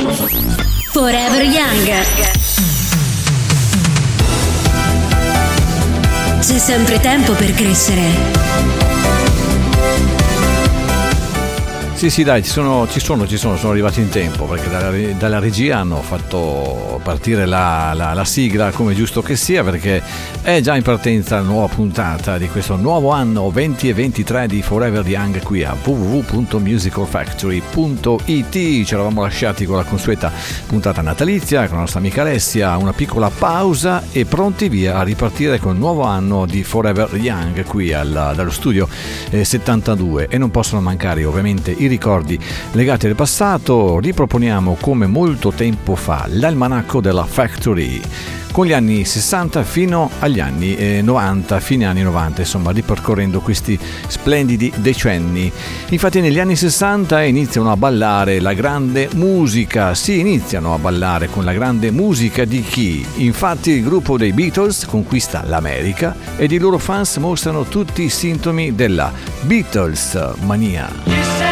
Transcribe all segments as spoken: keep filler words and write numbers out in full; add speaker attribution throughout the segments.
Speaker 1: Forever Young. C'è sempre tempo per crescere.
Speaker 2: Sì, sì, dai, ci sono, ci sono, ci sono, sono arrivati in tempo, perché dalla, dalla regia hanno fatto partire la, la, la sigla come giusto che sia, perché è già in partenza la nuova puntata di questo nuovo anno venti e ventitré di Forever Young qui a w w w punto musical factory punto i t. Ci eravamo lasciati con la consueta puntata natalizia con la nostra amica Alessia, una piccola pausa e pronti via a ripartire con il nuovo anno di Forever Young qui al, dallo studio eh, settantadue, e non possono mancare ovviamente i ricordi legati al passato. Riproponiamo come molto tempo fa l'almanacco della Factory con gli anni sessanta fino agli anni eh, novanta, fine anni novanta, insomma ripercorrendo questi splendidi decenni. Infatti negli anni sessanta iniziano a ballare la grande musica, si iniziano a ballare con la grande musica di chi? Infatti il gruppo dei Beatles conquista l'America ed i loro fans mostrano tutti i sintomi della Beatles mania.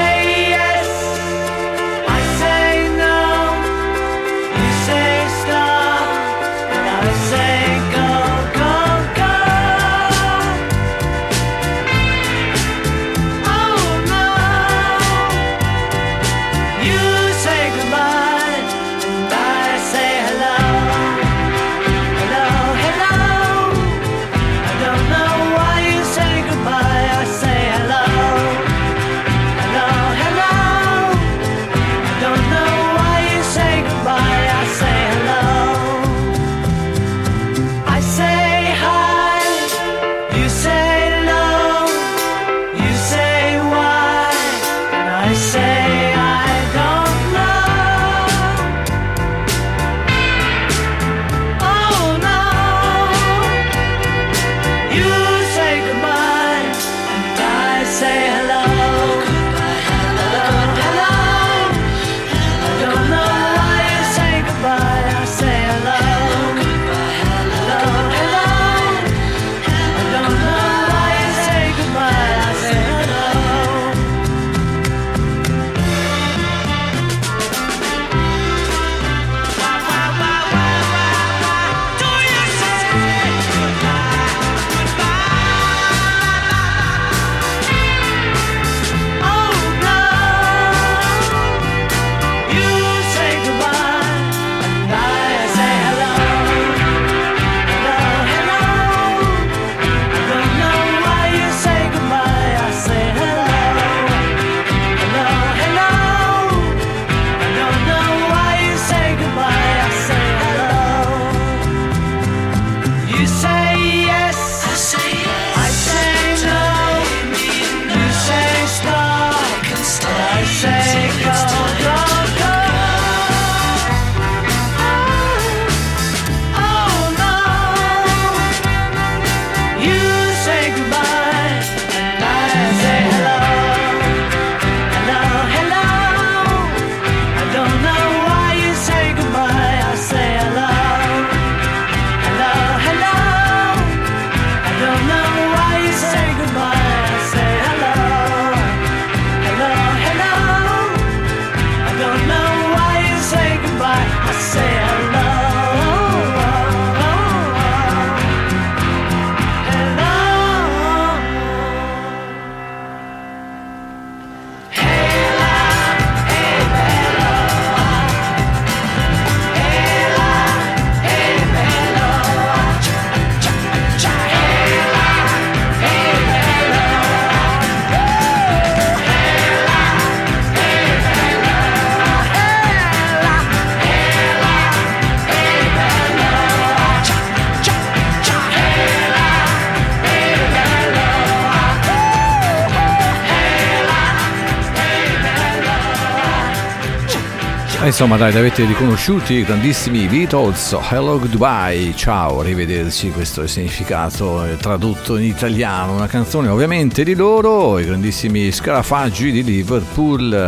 Speaker 2: Insomma dai, li avete riconosciuti i grandissimi Beatles, Hello Goodbye, ciao, arrivederci, questo è il significato tradotto in italiano, una canzone ovviamente di loro, i grandissimi Scarafaggi di Liverpool,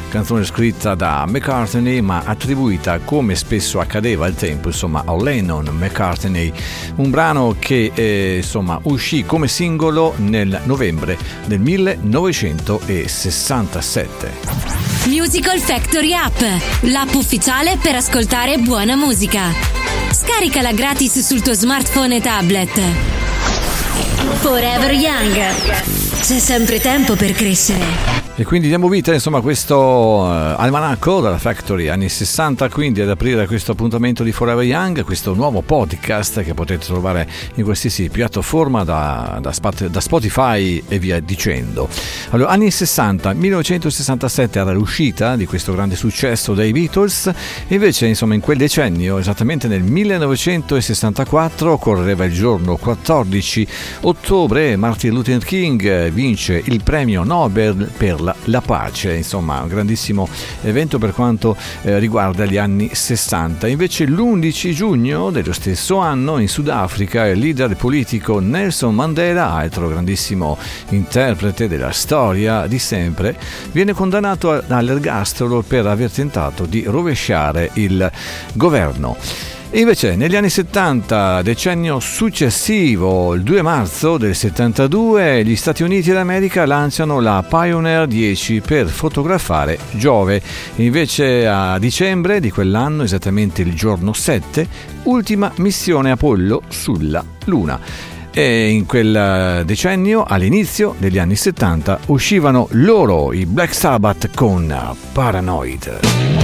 Speaker 2: canzone scritta da McCartney ma attribuita, come spesso accadeva al tempo, insomma, a Lennon McCartney, un brano che eh, insomma uscì come singolo nel novembre del millenovecentosessantasette.
Speaker 1: Musical Factory App, l'app ufficiale per ascoltare buona musica. Scaricala gratis sul tuo smartphone e tablet. Forever Young. C'è sempre tempo per crescere.
Speaker 2: E quindi diamo vita insomma a questo uh, almanacco dalla Factory anni sessanta, quindi ad aprire questo appuntamento di Forever Young, questo nuovo podcast che potete trovare in qualsiasi piattaforma da, da, da Spotify e via dicendo. Allora, anni sessanta, millenovecentosessantasette era l'uscita di questo grande successo dei Beatles, e invece insomma in quel decennio, esattamente nel millenovecentosessantaquattro, correva il giorno quattordici ottobre, Martin Luther King vince il premio Nobel per la, la pace, insomma un grandissimo evento per quanto eh, riguarda gli anni sessanta. Invece l'undici giugno dello stesso anno in Sudafrica il leader politico Nelson Mandela, altro grandissimo interprete della storia di sempre, viene condannato all'ergastolo per aver tentato di rovesciare il governo. Invece negli anni settanta, decennio successivo, il due marzo del settantadue, gli Stati Uniti d'America lanciano la Pioneer dieci per fotografare Giove. Invece a dicembre di quell'anno, esattamente il giorno sette, ultima missione Apollo sulla Luna. E in quel decennio, all'inizio degli anni settanta, uscivano loro, i Black Sabbath, con Paranoid.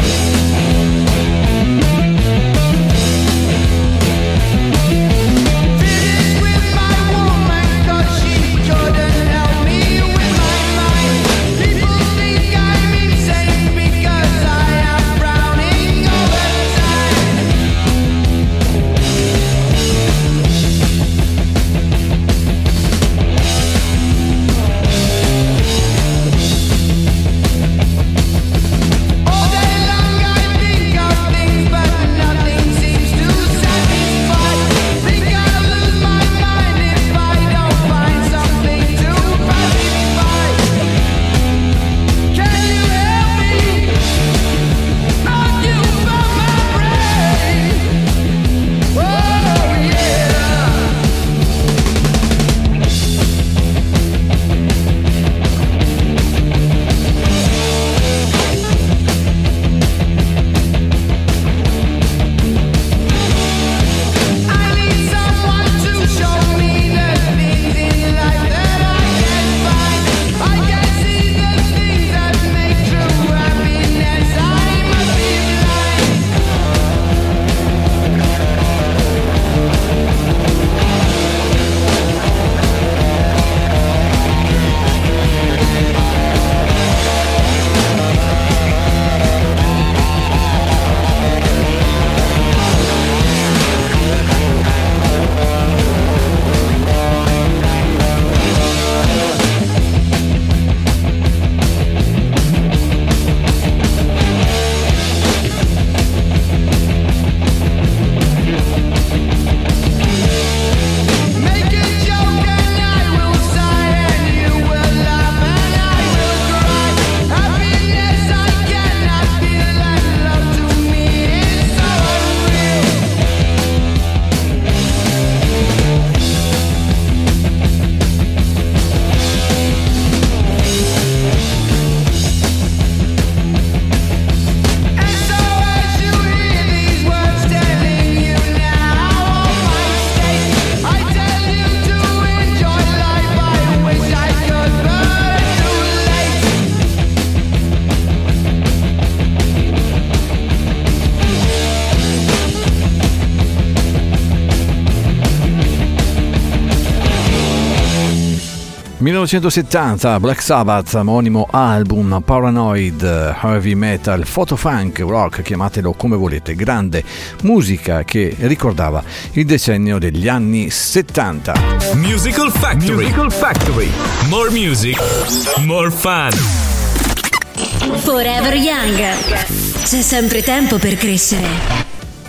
Speaker 2: millenovecentosettanta, Black Sabbath, omonimo album, Paranoid, heavy metal, photofunk, rock, chiamatelo come volete, grande musica che ricordava il decennio degli anni settanta.
Speaker 3: Musical Factory, Musical Factory, more music, more fun.
Speaker 1: Forever Young, c'è sempre tempo per crescere.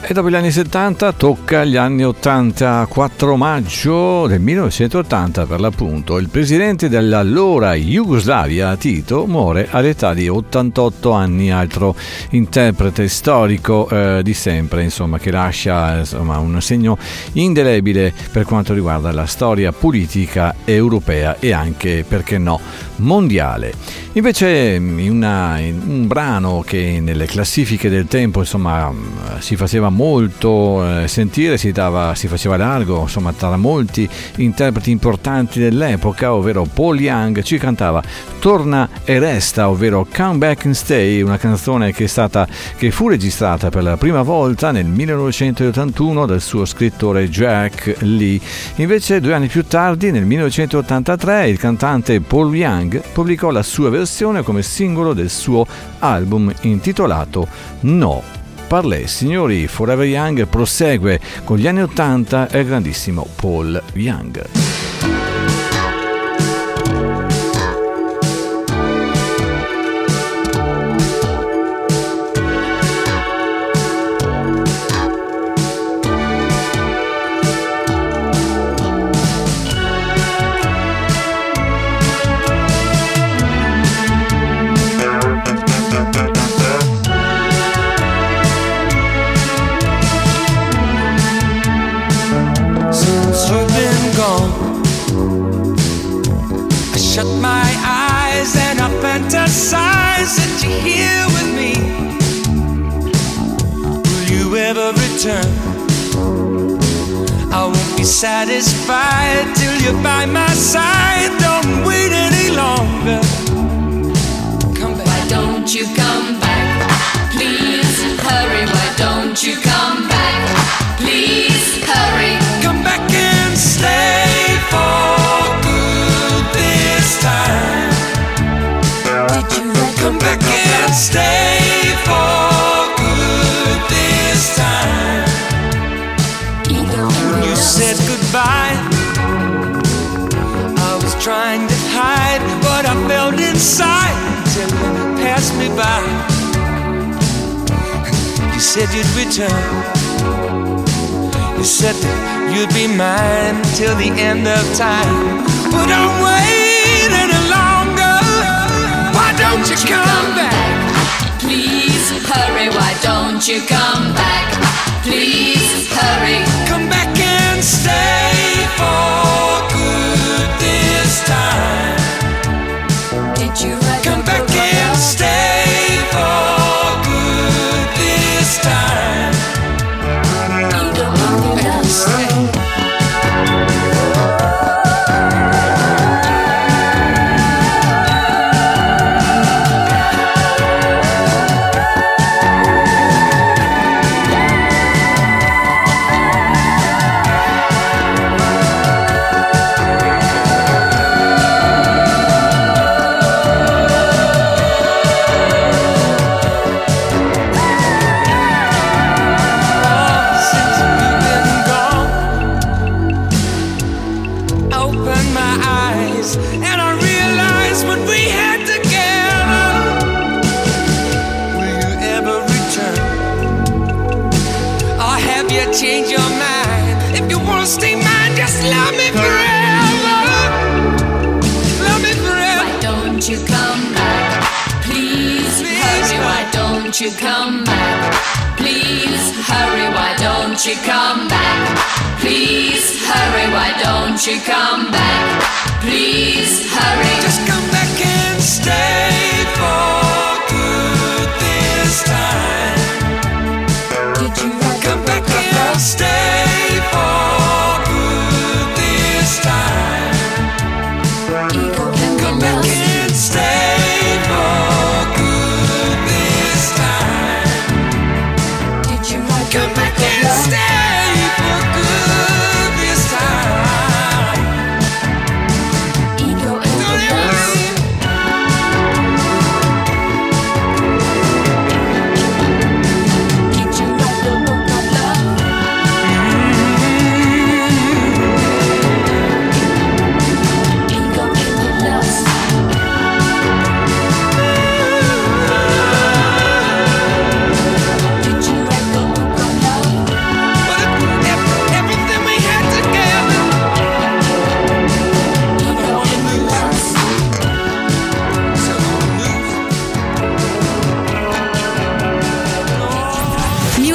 Speaker 2: E dopo gli anni settanta tocca agli anni ottanta, quattro maggio del millenovecentottanta per l'appunto. Il presidente dell'allora Jugoslavia, Tito, muore all'età di ottantotto anni, altro interprete storico eh, di sempre, insomma, che lascia insomma, un segno indelebile per quanto riguarda la storia politica europea e anche, perché no, mondiale. Invece in, una, in un brano che nelle classifiche del tempo insomma si faceva molto eh, sentire, si, dava, si faceva largo insomma tra molti interpreti importanti dell'epoca, ovvero Paul Young, ci cantava Torna e resta, ovvero Come Back and Stay, una canzone che è stata che fu registrata per la prima volta nel millenovecentottantuno dal suo scrittore Jack Lee. Invece due anni più tardi, nel millenovecentottantatré, il cantante Paul Young pubblicò la sua versione come singolo del suo album intitolato No. Parlez, signori, Forever Young prosegue con gli anni ottanta e il grandissimo Paul Young.
Speaker 4: Fantasize that you're here with me. Will you ever return? I won't be satisfied till you're by my side. Don't wait any longer. Come back.
Speaker 5: Why don't you come back? Please hurry. Why don't you come back? Please hurry.
Speaker 4: Come back and stay for good this time. Come back and stay for good this time. When you said goodbye, I was trying to hide what I felt inside until you passed me by. You said you'd return. You said that you'd be mine till the end of time. But I'm waiting any longer. Why don't you come back?
Speaker 5: Please hurry. Why don't you come back? Please hurry.
Speaker 4: Come back and stay for good this time.
Speaker 5: Did you write
Speaker 4: Come back and stay for good this time.
Speaker 5: You don't want me to stay.
Speaker 4: Change your mind. If you wanna stay mine, just love me forever. Love me forever.
Speaker 5: Why don't you come back? Please, Please hurry. Come. Why don't you come back? Please hurry. Why don't you come back? Please hurry. Why don't you come back? Please hurry.
Speaker 4: Just come back and stay for good this time.
Speaker 5: Did you
Speaker 4: come back and stay for good this time? Come back and stay for good this time.
Speaker 5: Did you
Speaker 4: come back and stay for good this time?
Speaker 5: Ego and
Speaker 4: Don't ever leave.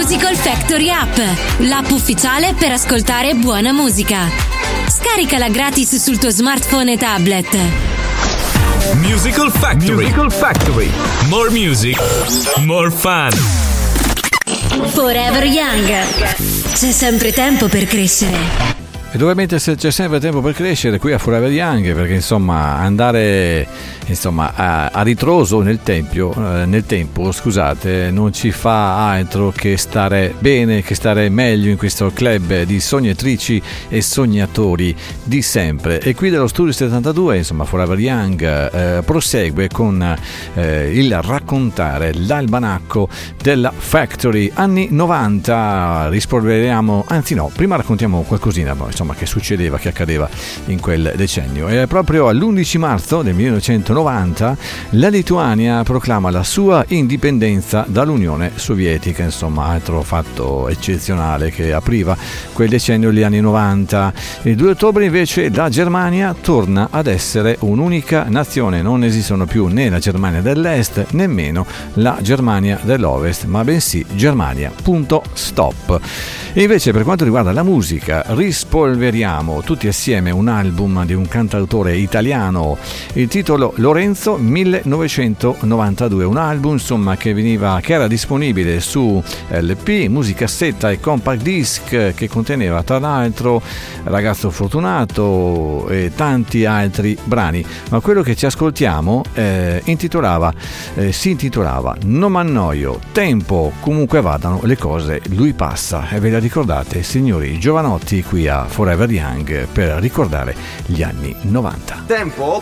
Speaker 1: Musical Factory App, l'app ufficiale per ascoltare buona musica. Scaricala gratis sul tuo smartphone e tablet.
Speaker 3: Musical Factory. Musical Factory. More music, more fun.
Speaker 1: Forever Young. C'è sempre tempo per crescere.
Speaker 2: E ovviamente se c'è sempre tempo per crescere qui a Forever Young, perché insomma andare insomma a, a ritroso nel tempio, eh, nel tempo, scusate, non ci fa altro che stare bene, che stare meglio in questo club di sognatrici e sognatori di sempre. E qui dello Studio settantadue, insomma, Forever Young eh, prosegue con eh, il raccontare l'almanacco della Factory anni novanta. Rispolveriamo, anzi no, prima raccontiamo qualcosina insomma che succedeva, che accadeva in quel decennio. E proprio all'undici marzo del millenovecentonovanta la Lituania proclama la sua indipendenza dall'Unione Sovietica, insomma altro fatto eccezionale che apriva quel decennio, gli anni novanta. Il due ottobre invece la Germania torna ad essere un'unica nazione, non esistono più né la Germania dell'Est nemmeno la Germania dell'Ovest, ma bensì Germania, punto stop. E invece per quanto riguarda la musica, rispolveriamo tutti assieme un album di un cantautore italiano, il titolo Lorenzo millenovecentonovantadue, un album insomma che veniva che era disponibile su L P, musicassetta e compact disc, che conteneva tra l'altro Ragazzo Fortunato e tanti altri brani, ma quello che ci ascoltiamo eh, intitolava eh, si intitolava Non m'annoio, tempo, comunque vadano le cose, lui passa. E ve la ricordate, signori giovanotti, qui a Forever Young per ricordare gli anni novanta.
Speaker 6: Tempo?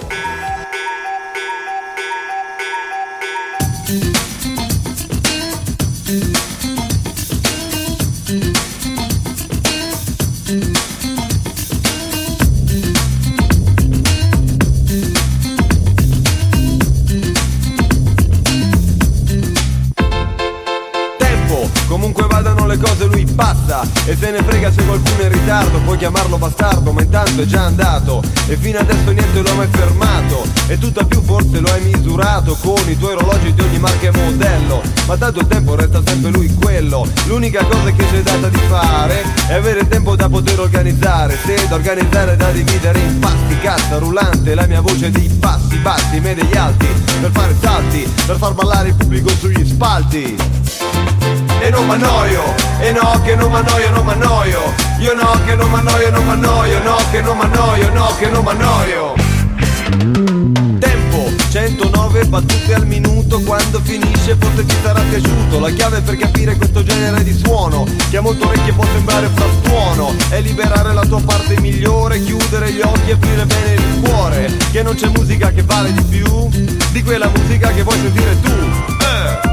Speaker 7: Comunque vadano le cose lui passa e se ne frega se qualcuno è in ritardo, puoi chiamarlo bastardo ma intanto è già andato e fino adesso niente lo ha mai fermato e tutto più forse lo hai misurato con i tuoi orologi di ogni marca e modello, ma tanto il tempo resta sempre lui quello. L'unica cosa che c'è data di fare è avere tempo da poter organizzare, se da organizzare da dividere in pasti, cassa rullante, la mia voce di passi bassi, me degli alti, per fare salti, per far ballare il pubblico sugli spalti. E non m'annoio, e no che non m'annoio, non m'annoio, io no che non m'annoio, non m'annoio, no che non m'annoio, no che non m'annoio. Tempo, centonove battute al minuto, quando finisce forse ci sarà piaciuto. La chiave per capire questo genere di suono, che a molte orecchie può sembrare frastuono, è liberare la tua parte migliore, chiudere gli occhi e aprire bene il cuore, che non c'è musica che vale di più di quella musica che vuoi sentire tu. eh.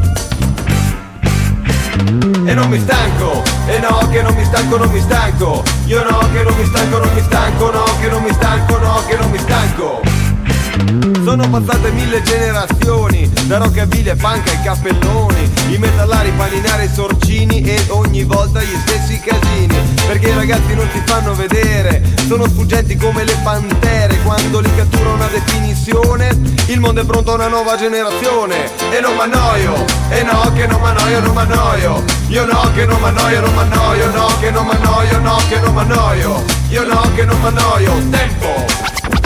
Speaker 7: E non mi stanco, e no che non mi stanco, non mi stanco, io no che non mi stanco, non mi stanco, no che non mi stanco, no che non mi stanco. Sono passate mille generazioni, da rockabilly e punk ai cappelloni, i metallari, i paninari, i sorcini e ogni volta gli stessi casini, perché i ragazzi non si fanno vedere, sono sfuggenti come le pantere, quando li cattura una definizione, il mondo è pronto a una nuova generazione. E non m'annoio, e no che non m'annoio, non m'annoio, io no che non m'annoio, non m'annoio, no che non m'annoio, no che non m'annoio, io no che non m'annoio. Tempo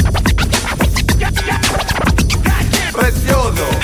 Speaker 7: prezioso.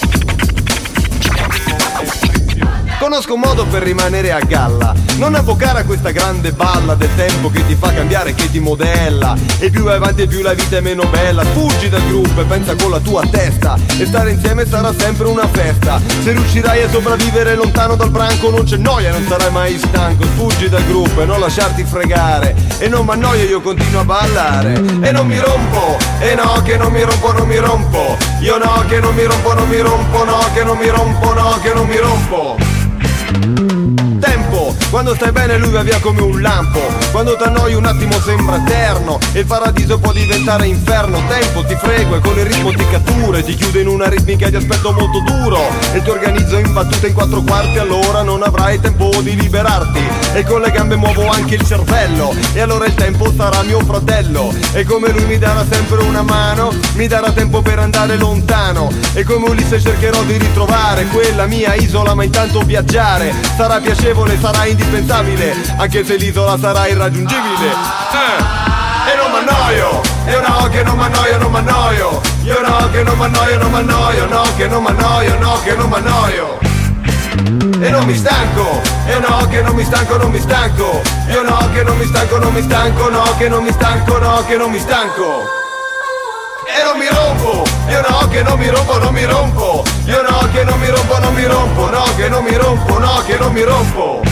Speaker 7: Conosco un modo per rimanere a galla, non avvocare a questa grande balla del tempo che ti fa cambiare, che ti modella, e più vai avanti e più la vita è meno bella. Fuggi dal gruppo e pensa con la tua testa, e stare insieme sarà sempre una festa. Se riuscirai a sopravvivere lontano dal branco non c'è noia, non sarai mai stanco. Fuggi dal gruppo e non lasciarti fregare, e non m'annoio, io continuo a ballare. E non mi rompo, e no che non mi rompo, non mi rompo, io no che non mi rompo, non mi rompo, no che non mi rompo, no che non mi rompo. Tempo, Quando stai bene lui va via come un lampo, quando t'annoi un attimo sembra eterno e il paradiso può diventare inferno. Tempo ti frego e con il ritmo ti cattura, ti chiude in una ritmica di aspetto molto duro e ti organizzo in battute in quattro quarti, allora non avrai tempo di liberarti e con le gambe muovo anche il cervello e allora il tempo sarà mio fratello e come lui mi darà sempre una mano, mi darà tempo per andare lontano e come Ulisse cercherò di ritrovare quella mia isola, ma intanto viaggiare sarà piacevole, sarà indispensabile anche se l'isola sarà irraggiungibile. eh. E non m'annoio, io no che non m'annoio, non m'annoio, io no che non m'annoio, non m'annoio, no che non m'annoio, no che non m'annoio. E non mi stanco, e no che non mi stanco, non mi stanco, io no che non mi stanco, non mi stanco, no che non mi stanco, no che non mi stanco. E non mi rompo, io no che non mi rompo, non mi rompo, io no che non mi rompo, non mi rompo, no che non mi rompo, no che non mi rompo.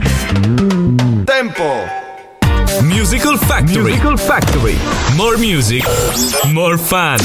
Speaker 7: Tempo.
Speaker 3: Musical Factory. Musical Factory. More music, more fun.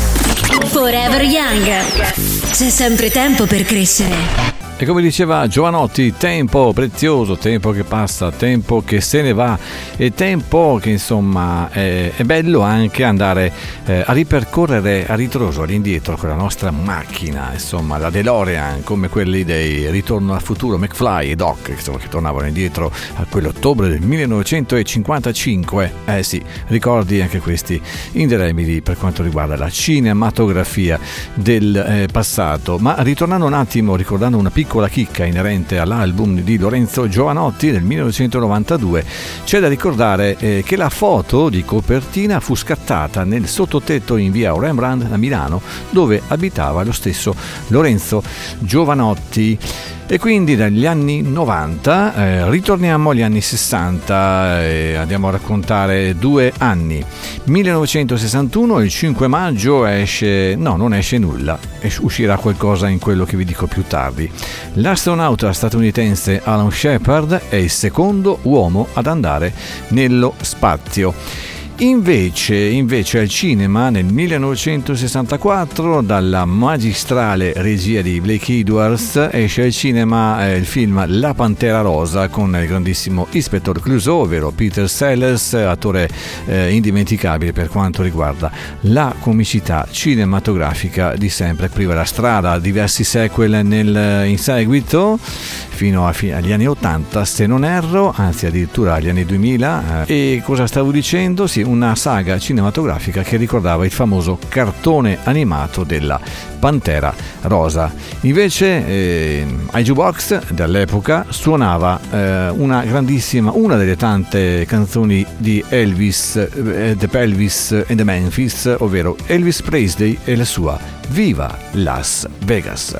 Speaker 1: Forever Young. C'è sempre tempo per crescere.
Speaker 2: E come diceva Giovanotti, tempo prezioso, tempo che passa, tempo che se ne va e tempo che insomma è, è bello anche andare eh, a ripercorrere a ritroso, all'indietro con la nostra macchina, insomma la DeLorean, come quelli dei Ritorno al futuro, McFly e Doc, insomma, che tornavano indietro a quell'ottobre del millenovecentocinquantacinque. Eh sì, ricordi anche questi indelebili per quanto riguarda la cinematografia del eh, passato. Ma ritornando un attimo, ricordando una piccola piccola chicca inerente all'album di Lorenzo Giovanotti del millenovecentonovantadue, c'è da ricordare eh, che la foto di copertina fu scattata nel sottotetto in via Rembrandt a Milano, dove abitava lo stesso Lorenzo Giovanotti. E quindi dagli anni novanta eh, ritorniamo agli anni sessanta e andiamo a raccontare due anni. millenovecentosessantuno, il cinque maggio esce, no non esce nulla, uscirà qualcosa in quello che vi dico più tardi. L'astronauta statunitense Alan Shepard è il secondo uomo ad andare nello spazio. Invece, invece al cinema nel millenovecentosessantaquattro, dalla magistrale regia di Blake Edwards, esce al cinema eh, il film La Pantera Rosa con il grandissimo Inspector Clouseau, ovvero Peter Sellers, attore eh, indimenticabile per quanto riguarda la comicità cinematografica di sempre. Apriva la strada a diversi sequel nel, in seguito fino a, agli anni ottanta, se non erro, anzi addirittura agli anni duemila. Eh, e cosa stavo dicendo? Sì, una saga cinematografica che ricordava il famoso cartone animato della Pantera Rosa. Invece eh, ai jukebox dell'epoca suonava eh, una grandissima, una delle tante canzoni di Elvis, eh, The Elvis and the Memphis, ovvero Elvis Presley e la sua Viva Las Vegas.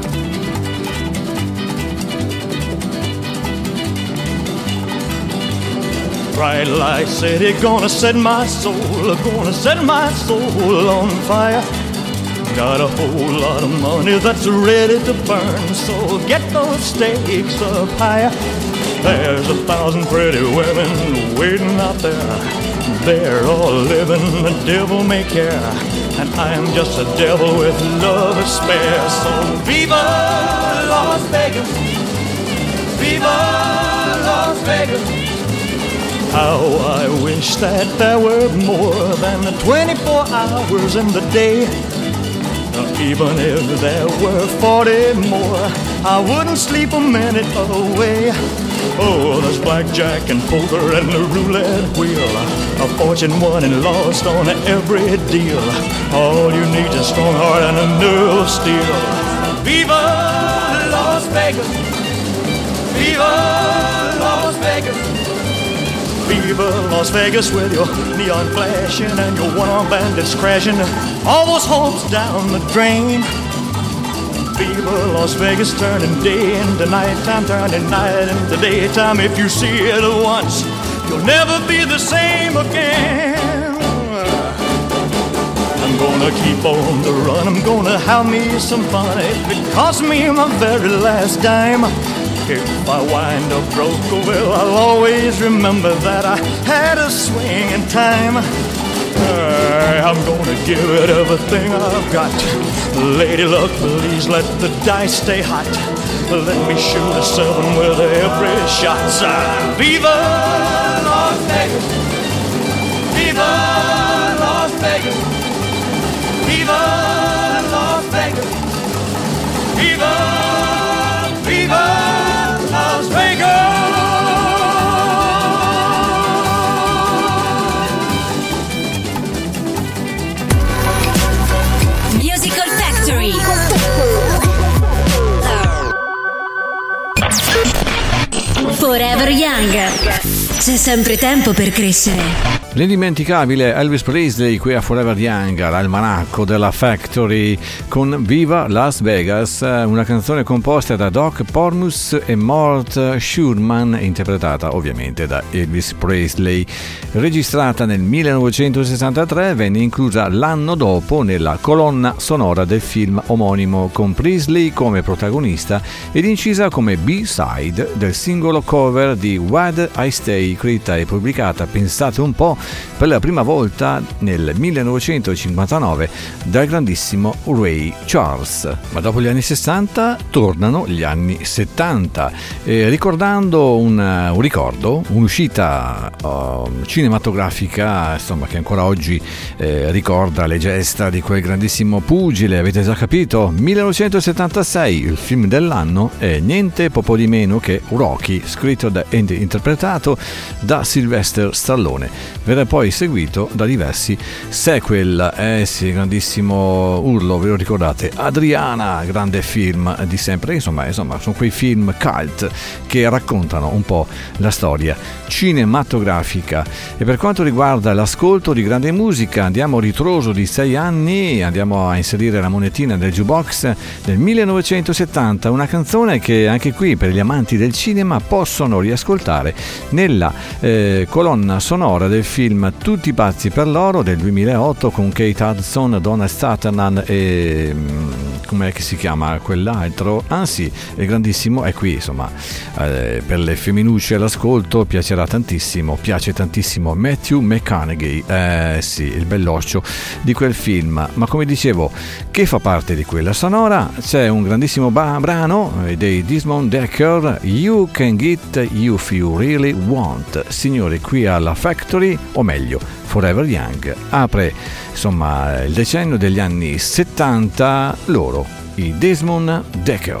Speaker 6: Bright light city, gonna set my soul, gonna set my soul on fire. Got a whole lot of money that's ready to burn, so get those stakes up higher. There's a thousand pretty women waiting out there. They're all living the devil may care, and I'm just a devil with love to spare. So viva Las Vegas, viva Las Vegas. How I wish that there were more than the twenty-four hours in the day. Even if there were forty more, I wouldn't sleep a minute away. Oh, there's blackjack and poker and the roulette wheel, a fortune won and lost on every deal. All you need is a strong heart and a nerve of steel. Viva Las Vegas, viva Las Vegas. Viva Las Vegas with your neon flashing and your one-armed bandits crashing, all those hopes down the drain. Viva Las Vegas, turning day into nighttime, turning night into daytime. If you see it once, you'll never be the same again. I'm gonna keep on the run, I'm gonna have me some fun. If it costs me my very last dime, if I wind up broke, well, I'll always remember that I had a swing in time. I'm gonna give it everything I've got. Lady luck, please let the dice stay hot. Let me shoot a seven with every shot. Viva Las Vegas! Viva Las Vegas! Viva Las Vegas! Viva, Viva Las Vegas!
Speaker 1: Musical Factory. Forever Young. C'è sempre tempo per crescere.
Speaker 2: L'indimenticabile Elvis Presley qui a Forever Young, l'almanacco della Factory con Viva Las Vegas, una canzone composta da Doc Pormus e Mort Schurman, interpretata ovviamente da Elvis Presley. Registrata nel millenovecentosessantatré, venne inclusa l'anno dopo nella colonna sonora del film omonimo, con Presley come protagonista ed incisa come B-side del singolo cover di Where I Stay, scritta e pubblicata, pensate un po', per la prima volta nel millenovecentocinquantanove dal grandissimo Ray Charles. Ma dopo gli anni sessanta tornano gli anni settanta, eh, ricordando un, un ricordo, un'uscita uh, cinematografica, insomma, che ancora oggi eh, ricorda le gesta di quel grandissimo pugile. Avete già capito? millenovecentosettantasei, il film dell'anno è niente poco di meno che Rocky, scritto da, e interpretato da Sylvester Stallone. Verrà poi seguito da diversi sequel. Eh sì, grandissimo urlo, ve lo ricordate? Adriana, grande film di sempre. Insomma, insomma, sono quei film cult che raccontano un po' la storia cinematografica. E per quanto riguarda l'ascolto di grande musica, andiamo a ritroso di sei anni, andiamo a inserire la monetina del jukebox del millenovecentosettanta, una canzone che anche qui per gli amanti del cinema possono riascoltare nella eh, colonna sonora del film Tutti pazzi per l'oro del duemilaotto, con Kate Hudson, Donna Sutherland e com'è che si chiama quell'altro? Ah sì, è grandissimo, è qui, insomma, eh, per le femminucce all'ascolto piacerà tantissimo, piace tantissimo Matthew McConaughey, eh sì, il belloccio di quel film. Ma come dicevo, che fa parte di quella sonora, c'è un grandissimo ba- brano dei Desmond Decker, You Can Get You If You Really Want. Signori, qui alla Factory, o meglio Forever Young, apre insomma il decennio degli anni settanta, loro, i Desmond Decker.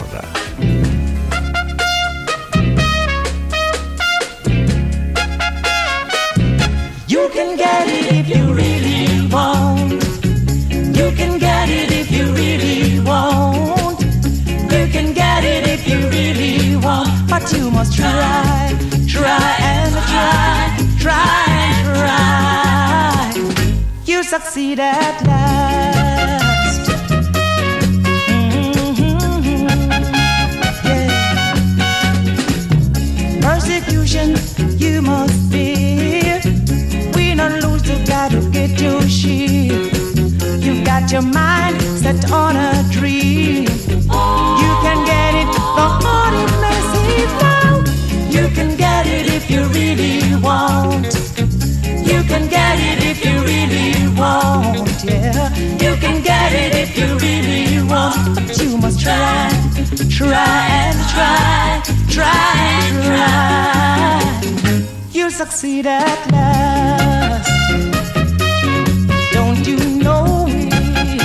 Speaker 8: You can get it if you really want. You can get it if you really want. You can get it if you really want. But you must try, try and try, try and try. You succeed at last. Mm-hmm. Yeah. Persecution you must fear. Win or lose, you gotta get your share. You've got your mind set on a dream. You can get it, the hard it may seem now. You can get it if you really want. You can get it if you really want, yeah. You can get it if you really want. But you must try, try and try, try and try. You'll succeed at last. Don't you know it?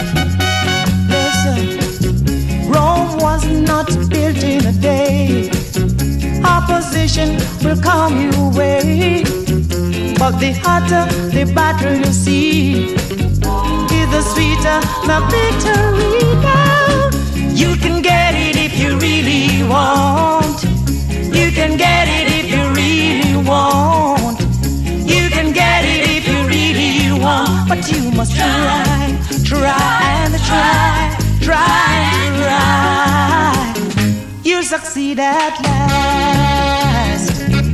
Speaker 8: Listen, Rome was not built in a day. Opposition will come your way. But the hotter the battle you see, is the sweeter the victory now. You can get it if you really want. You can get it if you really want. You can get it if you really want. But you must try, try and try, try and try. You'll succeed at last.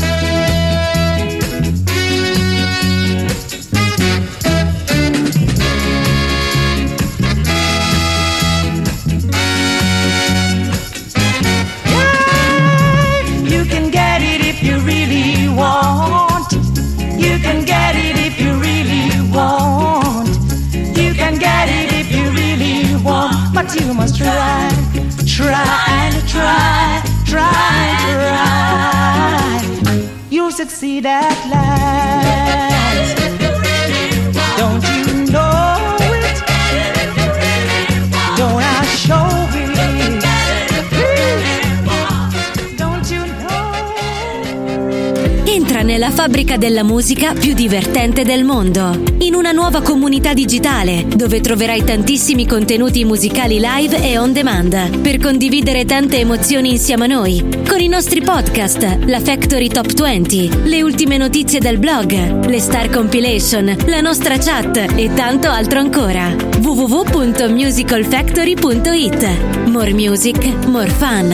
Speaker 8: You can get it if you really want. You can get it if you really want. but you must try, try and try, try and try. You'll succeed at last. Don't you know it? Don't I show it? Don't you know?
Speaker 1: Entra nella fabbrica della musica più divertente del mondo, in una nuova comunità digitale dove troverai tantissimi contenuti musicali live e on demand per condividere tante emozioni insieme a noi, con i nostri podcast, la Factory Top venti, le ultime notizie del blog, le Star Compilation, la nostra chat e tanto altro ancora. w w w punto musical factory punto it. More music, more fun.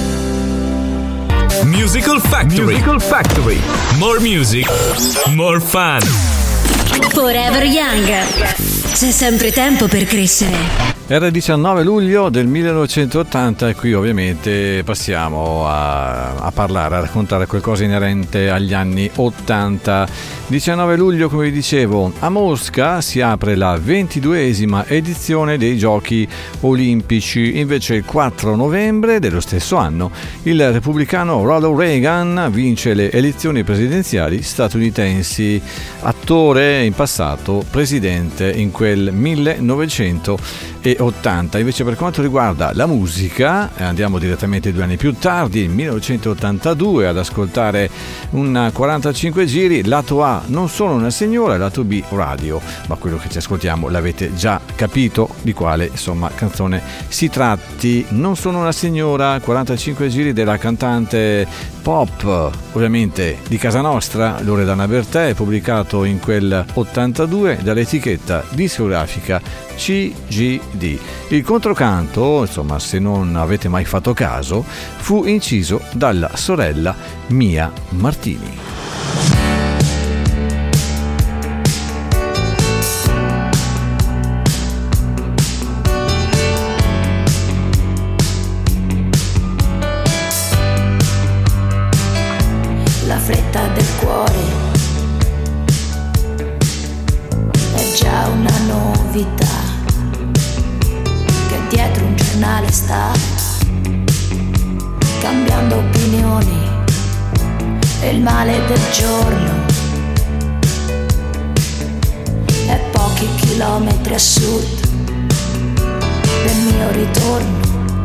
Speaker 3: Musical Factory. Musical Factory. More music, more fun.
Speaker 1: Forever Young. C'è sempre tempo per crescere.
Speaker 2: Era il diciannove luglio del millenovecentottanta e qui ovviamente passiamo a, a parlare, a raccontare qualcosa inerente agli anni ottanta. diciannove luglio, come vi dicevo, a Mosca si apre la ventiduesima edizione dei Giochi Olimpici. Invece il quattro novembre dello stesso anno il repubblicano Ronald Reagan vince le elezioni presidenziali statunitensi, attore in passato, presidente in quel millenovecentottanta. Invece per quanto riguarda la musica andiamo direttamente due anni più tardi, millenovecentottantadue, ad ascoltare un quarantacinque giri, lato A Non sono una signora, lato B Radio, ma quello che ci ascoltiamo l'avete già capito di quale insomma canzone si tratti. Non sono una signora, quarantacinque giri della cantante pop ovviamente di casa nostra, Loredana Bertè, pubblicato in quel ottantadue dall'etichetta discografica C G D. Il controcanto, insomma, se non avete mai fatto caso, fu inciso dalla sorella Mia Martini.
Speaker 9: La fretta del cuore è già una novità, che dietro un giornale sta cambiando opinioni e il male del giorno è pochi chilometri a sud del mio ritorno,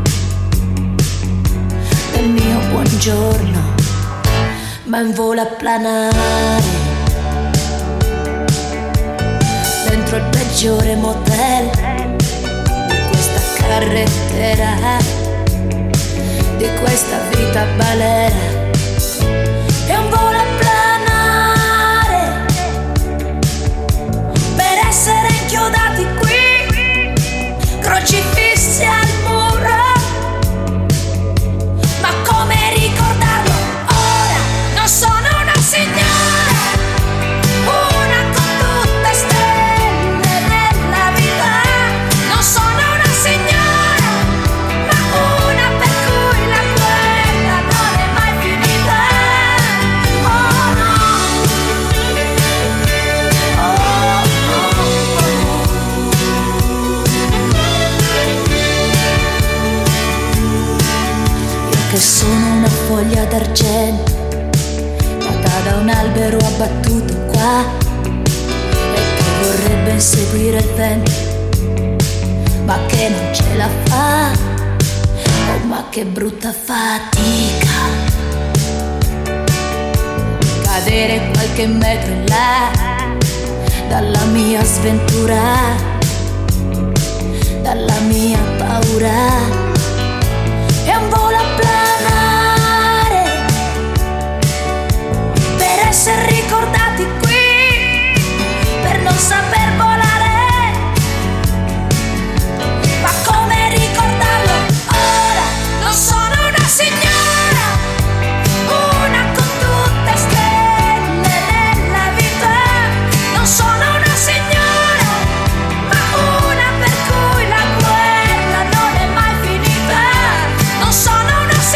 Speaker 9: del mio buongiorno, ma in volo a planare dentro il peggiore motel di questa carrettera, di questa vita balera. È un volo a planare per essere inchiodati qui, crocifissi al muro. Ma come ricordarlo ora? Non sono una signora, una con tutte stelle nella vita. Non sono una signora, ma una per cui la guerra non è mai finita. Oh no, oh, oh, oh. Io che sono una foglia d'argento da un albero abbattuto qua e che vorrebbe inseguire il vento, ma che non ce la fa. Oh, ma che brutta fatica cadere qualche metro in là dalla mia sventura, dalla mia paura. È un volo a planare per essere ricordati qui, per non saper volare. Ma come ricordarlo ora? Non sono una signora, una con tutte stelle nella vita. Non sono una signora, ma una per cui la guerra non è mai finita. Non sono una signora,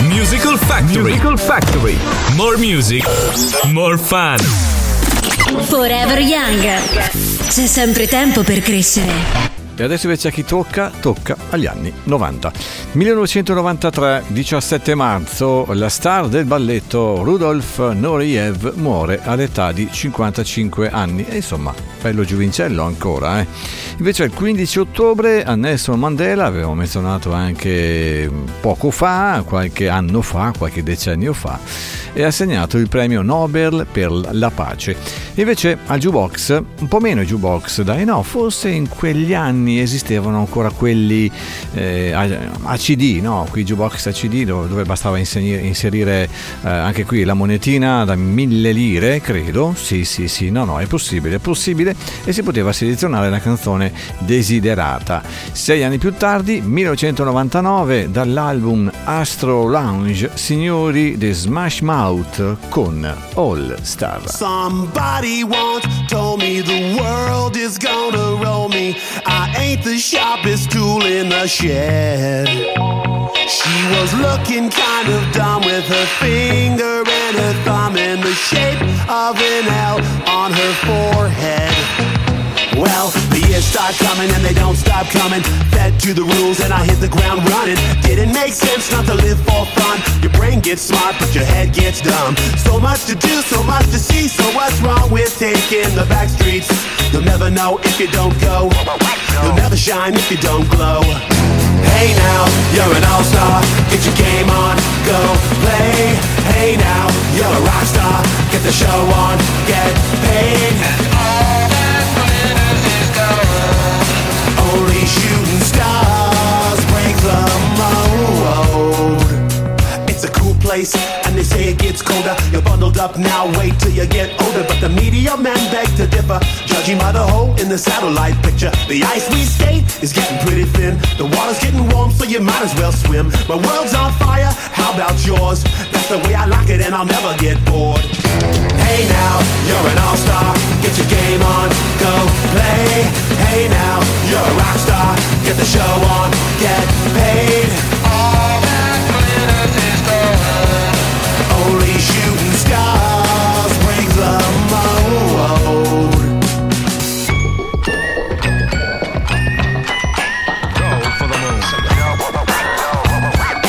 Speaker 3: Musical Factory. Musical Factory. More music, more fun.
Speaker 1: Forever Young. C'è sempre tempo per crescere.
Speaker 2: E adesso invece a chi tocca? Tocca agli anni novanta. millenovecentonovantatré, diciassette marzo, la star del balletto Rudolf Nureyev muore all'età di cinquantacinque anni. E insomma, bello giovincello ancora, eh. Invece il quindici ottobre a Nelson Mandela, avevo menzionato anche poco fa, qualche anno fa, qualche decennio fa, è assegnato il premio Nobel per la pace. Invece al jukebox, un po' meno jukebox, dai, no, forse in quegli anni esistevano ancora quelli eh, a C D, no? Qui jukebox a C D dove, dove bastava inserire, inserire eh, anche qui la monetina da mille lire, credo. Sì, sì, sì, no, no, è possibile, è possibile, e si poteva selezionare la canzone desiderata. Sei anni più tardi, millenovecentonovantanove, dall'album Astro Lounge, signori The Smash Mouth con All Star.
Speaker 10: Somebody once told me the world is gonna roll me. I ain't the sharpest tool in the shed. She was looking kind of dumb with her finger and her thumb in the shape of an L on her forehead. Well, the years start coming and they don't stop coming. Fed to the rules and I hit the ground running. Didn't make sense not to live for fun. Your brain gets smart but your head gets dumb. So much to do, so much to see. So what's wrong with taking the back streets? You'll never know if you don't go. You'll never shine if you don't glow. Hey now, you're an all-star. Get your game on, go play. Hey now, you're a rock star. Get the show on, get paid. And all that glitters is gold. Only shooting stars break the mold. It's a cool place, and they say it gets colder. You're bundled up now, wait till you get older. But the media men beg to differ, judging by the hole in the satellite picture. The ice we skate is getting pretty thin. The water's getting warm, so you might as well swim. My world's on fire, how about yours? That's the way I like it, and I'll never get bored. Hey now, you're an all-star. Get your game on, go play. Hey now, you're a rock star. Get the show on, get paid. All that glitters is gold. Only shooting stars break the mold.
Speaker 11: Go for the moon. Go for the moon.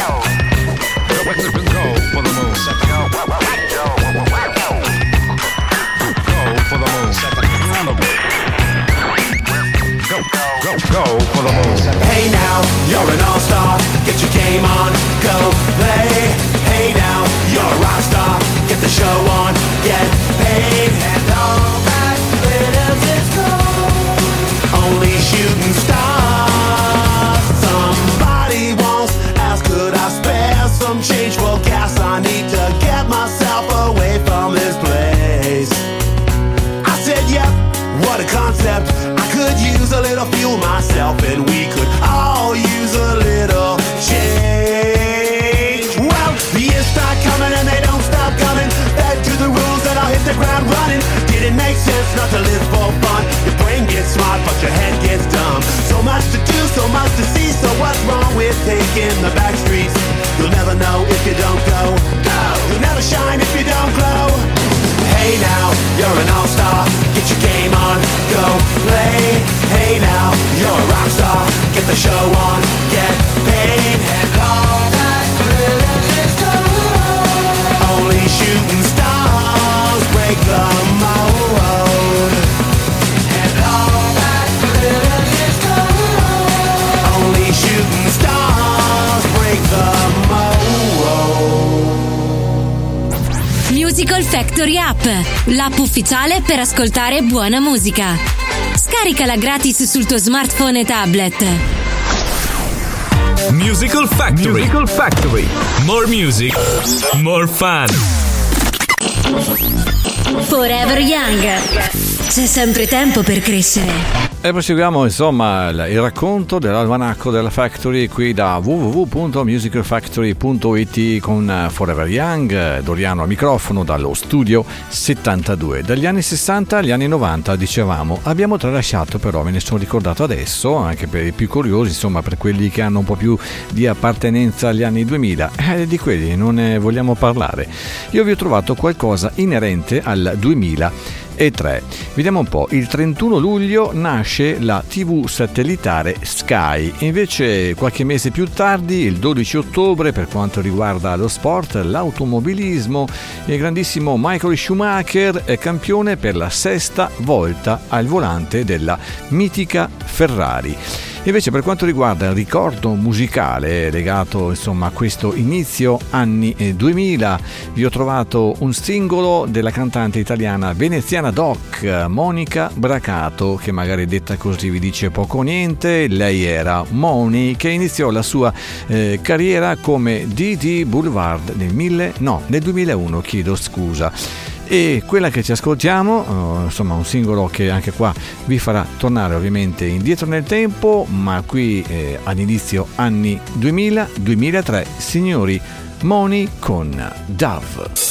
Speaker 11: Go, go, go for the moon.
Speaker 10: Hey now, you're an all-star. Get your game on, go play. Hey now, you're a rock star. Get the show on, get paid. And all that glitters is gold. Only shooting stars. Somebody once asked, could I spare some change for gas? I need to get myself away from this place. I said, yep, what a concept. I could use a little fuel myself, and we could all use a little change. Well, the years start coming and they don't stop coming. Back to the rules and I'll hit the ground running. Didn't make sense not to live for fun. Your brain gets smart but your head gets dumb. So much to do, so much to see. So what's wrong with taking the back streets? You'll never know if you don't go. No. You'll never shine if you don't glow. Hey now, you're an all-star. Get your game on, go play. Hey now, you're a rock star. Get the show on, get paid. And all that glitters is gold. Only shooting stars break the mold. And all that glitters is gold. Only shooting stars break the mold.
Speaker 1: Musical Factory App, l'app ufficiale per ascoltare buona musica. Scaricala gratis sul tuo smartphone e tablet.
Speaker 3: Musical Factory. Musical Factory. More music, more fun.
Speaker 1: Forever Young. C'è sempre tempo per crescere.
Speaker 2: E proseguiamo insomma il, il racconto dell'almanacco della Factory qui da w w w punto musical factory punto i t con Forever Young, Doriano al microfono dallo studio settantadue. Dagli anni sessanta agli anni novanta, dicevamo, abbiamo tralasciato, però me ne sono ricordato adesso, anche per i più curiosi, insomma per quelli che hanno un po' più di appartenenza agli anni duemila, eh, di quelli non ne vogliamo parlare. Io vi ho trovato qualcosa inerente al duemila e tre. Vediamo un po', il trentuno luglio nasce la tivù satellitare Sky, invece qualche mese più tardi, il dodici ottobre, per quanto riguarda lo sport, l'automobilismo, il grandissimo Michael Schumacher è campione per la sesta volta al volante della mitica Ferrari. Invece per quanto riguarda il ricordo musicale legato insomma a questo inizio anni duemila, vi ho trovato un singolo della cantante italiana veneziana doc Monica Bracato, che magari detta così vi dice poco o niente. Lei era Moni, che iniziò la sua eh, carriera come D D Boulevard nel mille no nel duemilauno, chiedo scusa. E quella che ci ascoltiamo, uh, insomma un singolo che anche qua vi farà tornare ovviamente indietro nel tempo, ma qui eh, all'inizio anni duemila duemilatré, signori, Moni con Dove.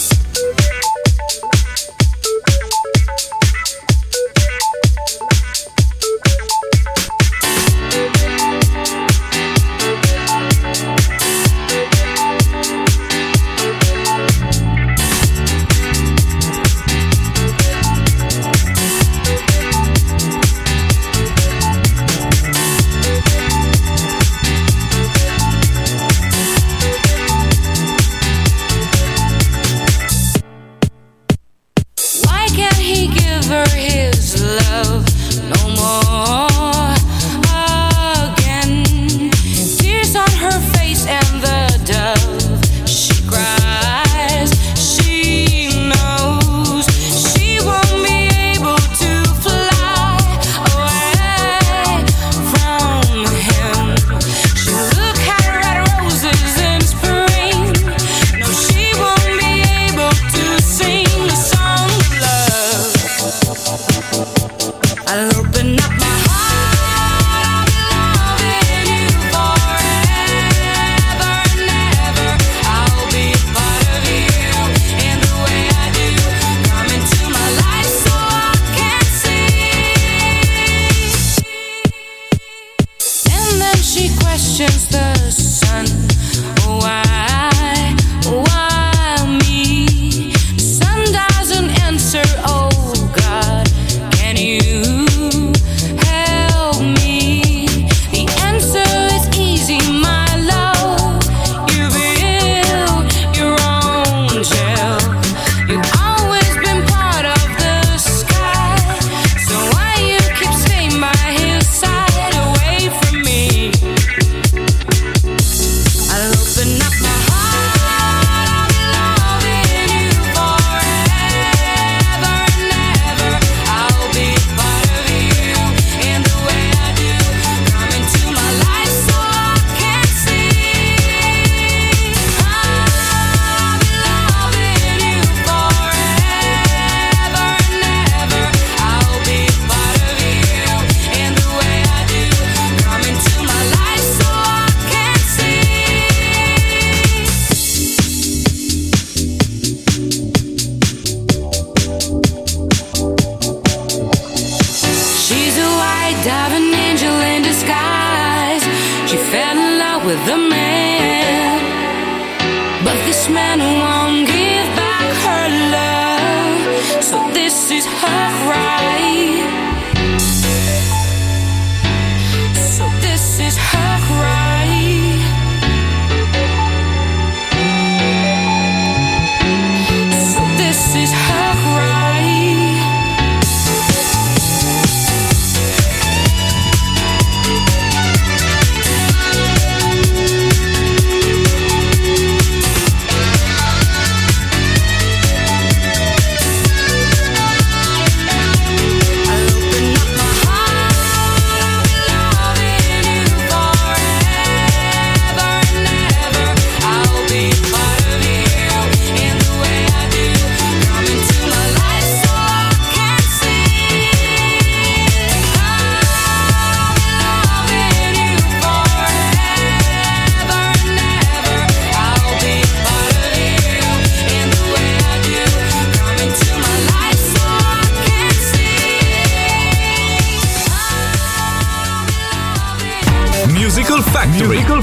Speaker 9: I'll open up my heart, I'll be loving you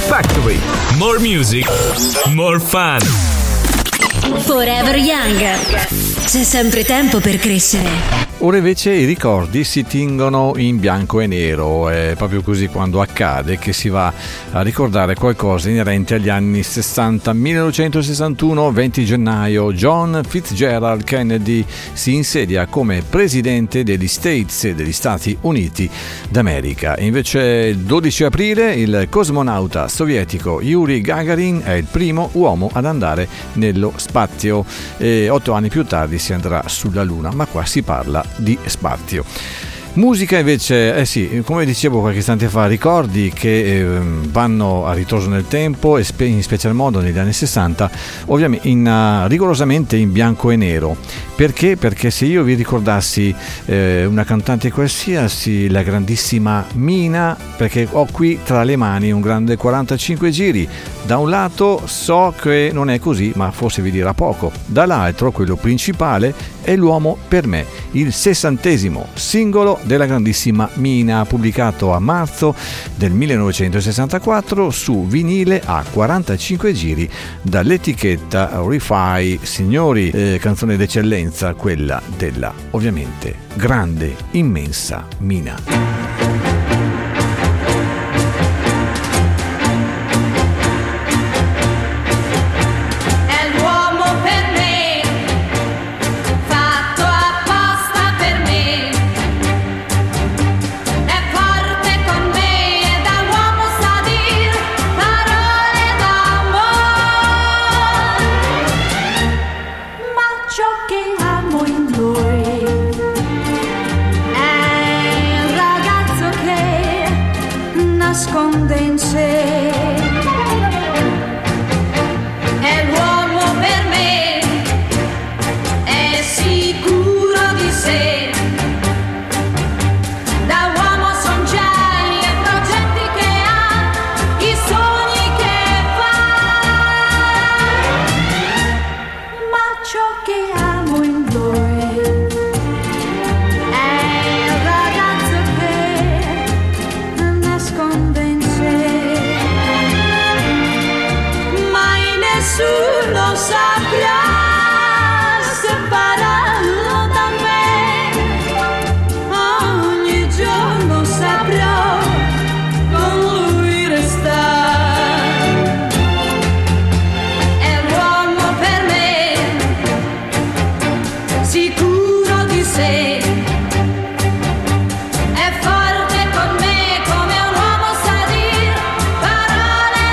Speaker 3: Factory. More music, more fun.
Speaker 1: Forever Young. C'è sempre tempo per crescere.
Speaker 2: Ora invece i ricordi si tingono in bianco e nero, è proprio così quando accade che si va a ricordare qualcosa inerente agli anni sessanta. millenovecentosessantuno, venti gennaio, John Fitzgerald Kennedy si insedia come presidente degli States, degli Stati Uniti d'America. Invece dodici aprile il cosmonauta sovietico Yuri Gagarin è il primo uomo ad andare nello spazio e otto anni più tardi si andrà sulla Luna, ma qua si parla di spazio. Musica invece, eh sì, come dicevo qualche istante fa, ricordi che eh, vanno a ritroso nel tempo e spe- in special modo negli anni sessanta, ovviamente in, uh, rigorosamente in bianco e nero. Perché? Perché se io vi ricordassi eh, una cantante qualsiasi, la grandissima Mina, perché ho qui tra le mani un grande quarantacinque giri, da un lato so che non è così, ma forse vi dirà poco, dall'altro quello principale è L'uomo per me, il sessantesimo singolo della grandissima Mina, pubblicato a marzo del millenovecentosessantaquattro su vinile a quarantacinque giri dall'etichetta Ri-Fi. Signori, eh, canzone d'eccellenza, quella della ovviamente grande, immensa Mina.
Speaker 9: Nasconde in sé. È l'uomo per me, è sicuro di sé. Da uomo son geni e progetti che ha, i sogni che fa. Ma ciò che amo in lui è il ragazzo che nasconde in sé. Mai nessuno saprà separarlo da me. Ogni giorno saprò con lui restare. È l'uomo per me, sicuro di sé. È forte con me come un uomo sa dir parole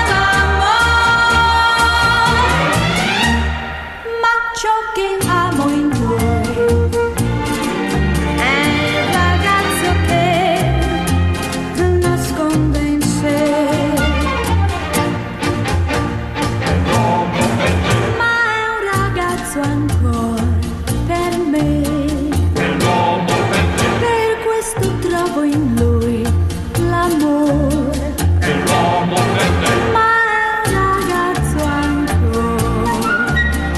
Speaker 9: d'amore. Ma ciò che amo in lui è il ragazzo che nasconde in sé. Ma è un ragazzo ancora per me. Per questo trovo in lui l'amore. Ma è un ragazzo ancora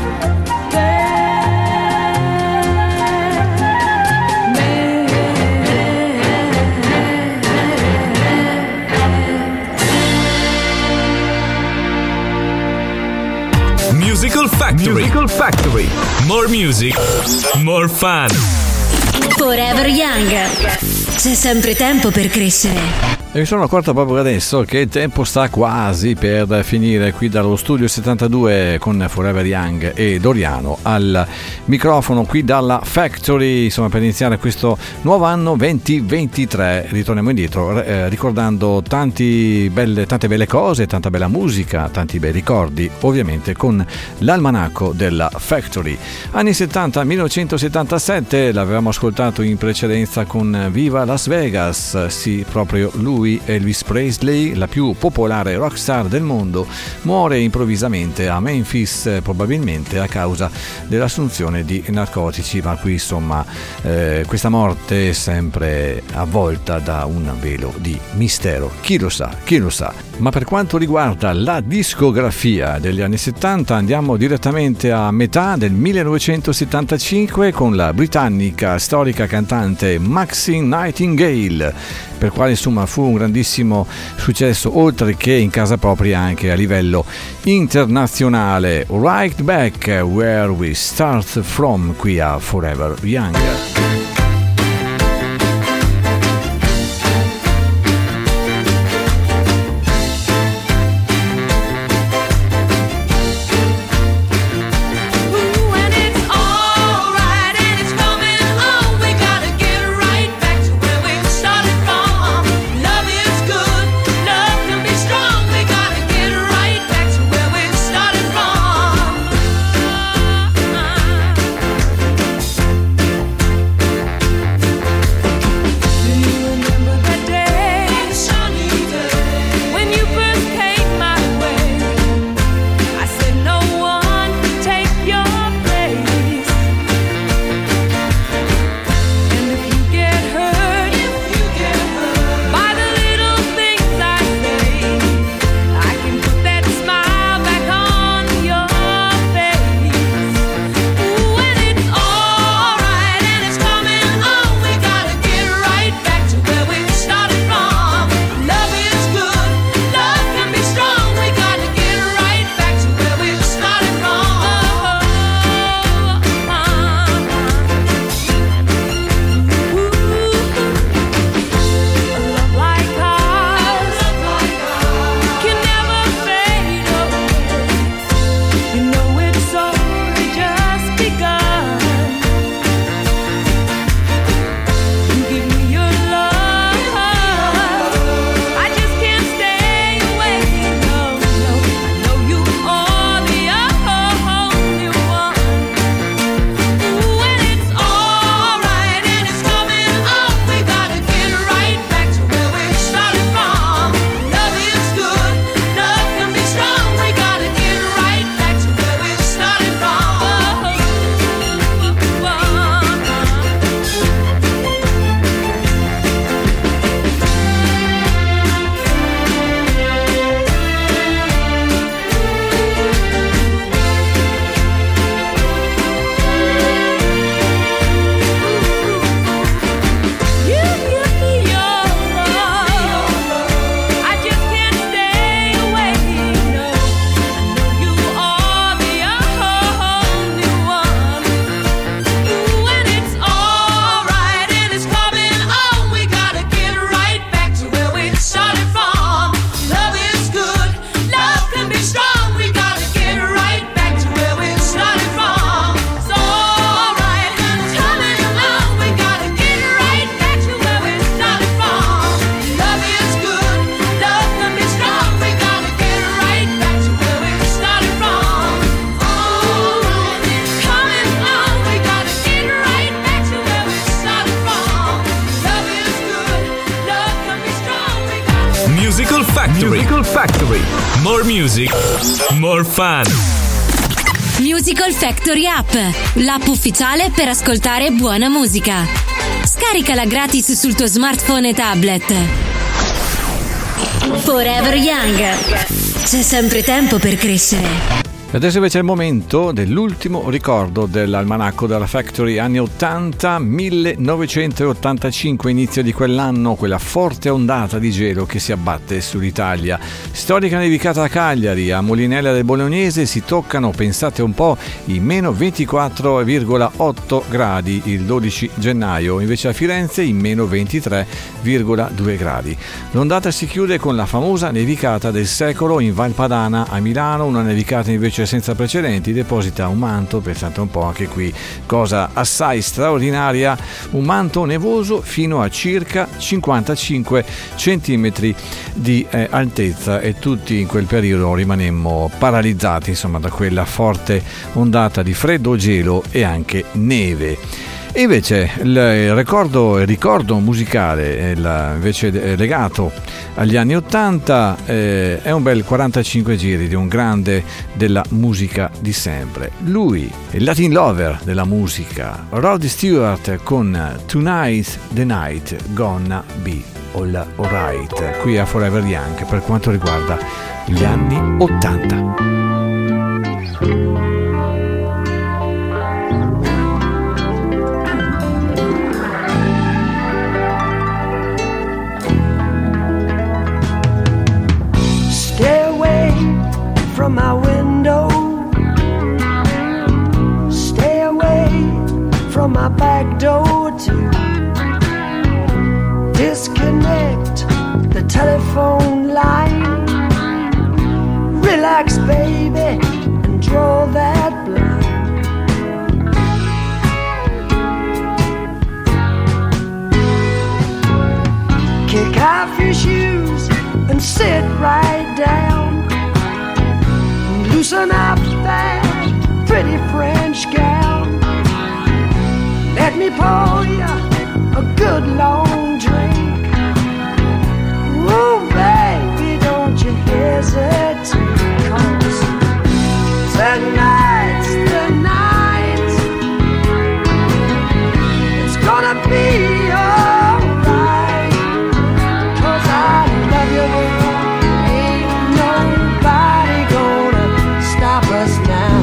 Speaker 3: Musical Factory. Musical Factory. More music, more fun.
Speaker 1: Forever Young. C'è sempre tempo per crescere.
Speaker 2: E mi sono accorto proprio adesso che il tempo sta quasi per finire qui dallo studio settantadue con Forever Young e Doriano al microfono qui dalla Factory, insomma, per iniziare questo nuovo anno duemilaventitré. Ritorniamo indietro eh, ricordando tanti belle, tante belle cose, tanta bella musica, tanti bei ricordi, ovviamente con l'almanacco della Factory. Anni settanta, millenovecentosettantasette, l'avevamo ascoltato in precedenza con Viva Las Vegas, sì, proprio lui. Elvis Presley, la più popolare rockstar del mondo, muore improvvisamente a Memphis, probabilmente a causa dell'assunzione di narcotici, ma qui insomma eh, questa morte è sempre avvolta da un velo di mistero. Chi lo sa, chi lo sa. Ma per quanto riguarda la discografia degli anni settanta, andiamo direttamente a metà del millenovecentosettantacinque con la britannica storica cantante Maxine Nightingale. per quale insomma fu un grandissimo successo, oltre che in casa propria anche a livello internazionale. Right Back Where We Start From, qui a Forever Young.
Speaker 3: Musical Factory. Musical Factory. More music, more fun.
Speaker 1: Musical Factory App, l'app ufficiale per ascoltare buona musica. Scaricala gratis sul tuo smartphone e tablet. Forever Young. C'è sempre tempo per crescere.
Speaker 2: Adesso invece è il momento dell'ultimo ricordo dell'almanacco della Factory anni ottanta, millenovecentottantacinque, inizio di quell'anno, quella forte ondata di gelo che si abbatte sull'Italia. Storica nevicata a Cagliari, a Molinella del Bolognese si toccano, pensate un po', i meno ventiquattro virgola otto gradi il dodici gennaio, invece a Firenze i meno ventitré virgola due gradi. L'ondata si chiude con la famosa nevicata del secolo in Val Padana a Milano, una nevicata invece senza precedenti, deposita un manto, pensate un po' anche qui, cosa assai straordinaria, un manto nevoso fino a circa cinquantacinque centimetri di eh, altezza, e tutti in quel periodo rimanemmo paralizzati insomma da quella forte ondata di freddo, gelo e anche neve. E invece il ricordo, il ricordo musicale il, invece legato agli anni ottanta eh, è un bel quarantacinque giri di un grande della musica di sempre. Lui, il Latin lover della musica, Rod Stewart, con Tonight's the Night Gonna Be All Alright, qui a Forever Young per quanto riguarda gli anni ottanta.
Speaker 8: from my window. Stay away from my back door too. Disconnect the telephone line. Relax, baby, and draw that blind. Kick off your shoes and sit right down. Loosen up that pretty French gown. Let me pour you a good long drink. Oh, baby, don't you hesitate, 'cause tonight's the night. It's gonna be alright, 'cause I love you, girl. Ain't nobody gonna stop us now.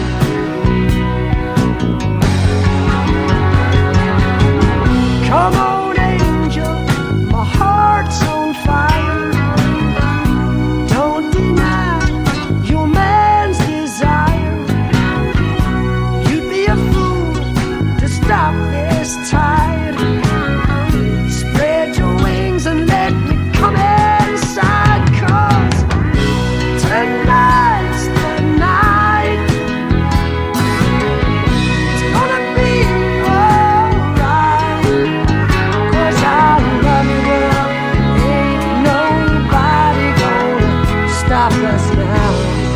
Speaker 8: Come on, angel, my heart's on fire. Don't deny your man's desire. You'd be a fool to stop this tide. Spread your wings and let me come inside, 'cause tonight's the night. It's gonna be alright, 'cause I love you, girl. Ain't nobody gonna stop us now.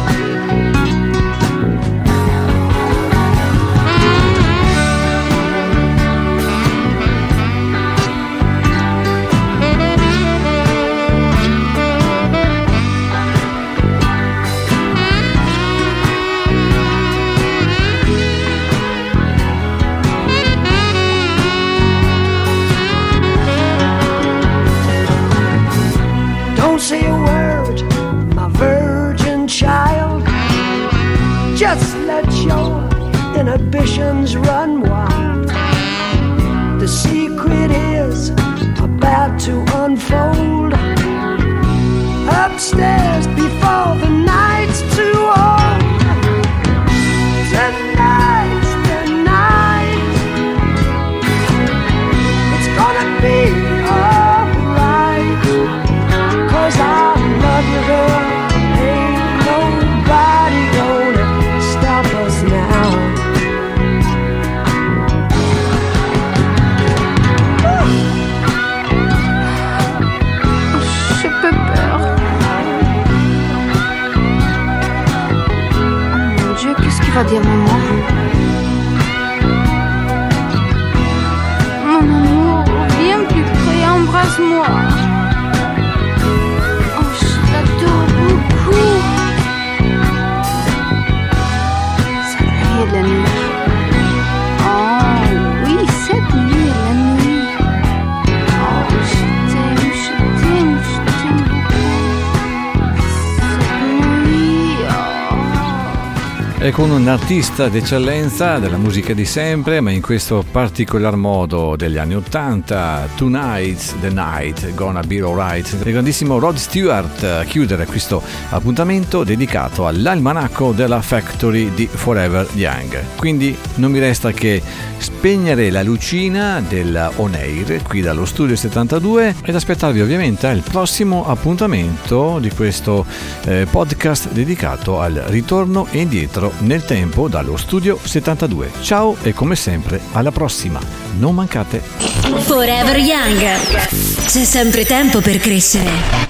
Speaker 8: Don't say a word, my virgin child. Just let your inhibitions run wild. The secret is about to unfold. Upstairs before the night's too old. Tonight's the night. It's gonna be alright, 'cause I love you, girl. Ain't nobody gonna stop us now.
Speaker 12: J'ai peu peur. Oh mon Dieu, qu'est-ce qu'il va dire maman? Mon amour, viens plus près, embrasse-moi. Oh, je l'adore beaucoup. Cette nuit et la nuit. Oh oui, cette nuit et la nuit. Oh, je t'aime, je t'aime, je t'aime beaucoup. Cette nuit, oh.
Speaker 2: E con un artista d'eccellenza della musica di sempre, ma in questo particolar modo degli anni ottanta, Tonight's the Night, Gonna Be Alright, il grandissimo Rod Stewart a chiudere questo appuntamento dedicato all'almanacco della Factory di Forever Young. Quindi non mi resta che spegnere la lucina della On Air qui dallo studio settantadue ed aspettarvi ovviamente al prossimo appuntamento di questo eh, podcast dedicato al ritorno e indietro nel tempo dallo studio settantadue. Ciao e come sempre alla prossima, non mancate.
Speaker 1: Forever Young, c'è sempre tempo per crescere.